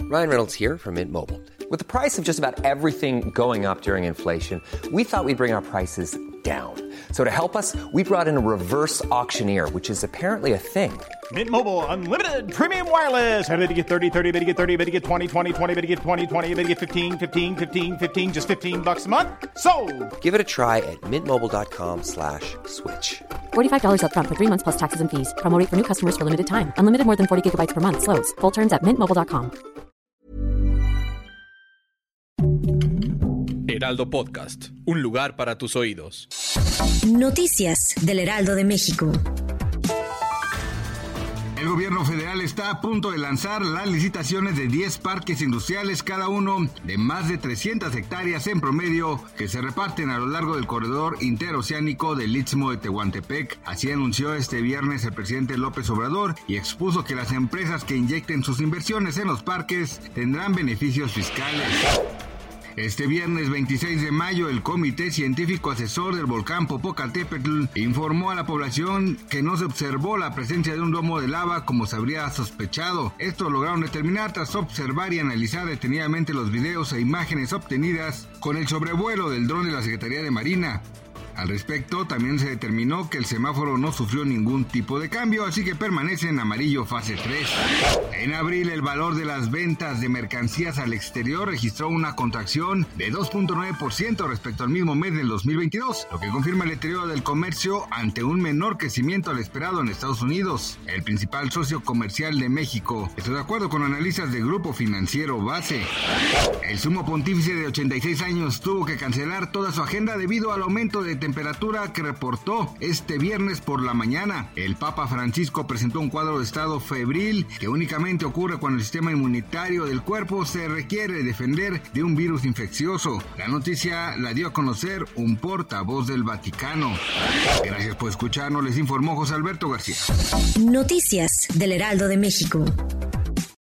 Ryan Reynolds here from Mint Mobile. With the price of just about everything going up during inflation, we thought we'd bring our prices down. So to help us, we brought in a reverse auctioneer, which is apparently a thing. Mint Mobile Unlimited Premium Wireless. How to get 30, 30, how to get 30, how to get 20, 20, 20, how to get 20, 20, how to get 15, 15, 15, 15, just $15 a month? Sold! Give it a try at mintmobile.com/switch. $45 up front for 3 months plus taxes and fees. Promo rate for new customers for limited time. Unlimited more than 40 gigabytes per month. Slows full terms at mintmobile.com. Heraldo Podcast, un lugar para tus oídos. Noticias del Heraldo de México. El gobierno federal está a punto de lanzar las licitaciones de 10 parques industriales, cada uno de más de 300 hectáreas en promedio, que se reparten a lo largo del corredor interoceánico del Istmo de Tehuantepec. Así anunció este viernes el presidente López Obrador y expuso que las empresas que inyecten sus inversiones en los parques tendrán beneficios fiscales. Este viernes 26 de mayo, el Comité Científico Asesor del Volcán Popocatépetl informó a la población que no se observó la presencia de un domo de lava como se habría sospechado. Esto lograron determinar tras observar y analizar detenidamente los videos e imágenes obtenidas con el sobrevuelo del dron de la Secretaría de Marina. Al respecto, también se determinó que el semáforo no sufrió ningún tipo de cambio, así que permanece en amarillo fase 3. En abril, el valor de las ventas de mercancías al exterior registró una contracción de 2.9% respecto al mismo mes del 2022, lo que confirma el deterioro del comercio ante un menor crecimiento al esperado en Estados Unidos, el principal socio comercial de México. Estoy de acuerdo con analistas del Grupo Financiero Base. El sumo pontífice de 86 años tuvo que cancelar toda su agenda debido al aumento de temperatura que reportó este viernes por la mañana. El Papa Francisco presentó un cuadro de estado febril que únicamente ocurre cuando el sistema inmunitario del cuerpo se requiere defender de un virus infeccioso. La noticia la dio a conocer un portavoz del Vaticano. Gracias por escucharnos, les informó José Alberto García. Noticias del Heraldo de México.